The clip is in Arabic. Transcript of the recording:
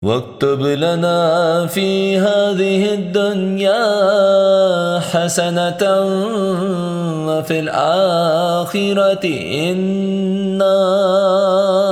واكتب لنا في هذه الدنيا حسنة وفي الآخرة إنا